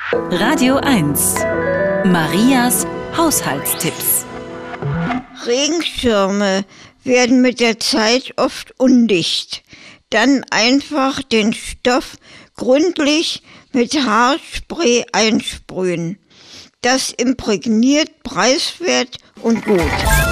Radio 1. Marias Haushaltstipps. Regenschirme werden mit der Zeit oft undicht. Dann einfach den Stoff gründlich mit Haarspray einsprühen. Das imprägniert preiswert und gut.